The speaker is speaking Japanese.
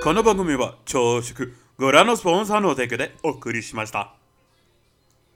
この番組は朝食ご覧のスポンサーの提供でお送りしました。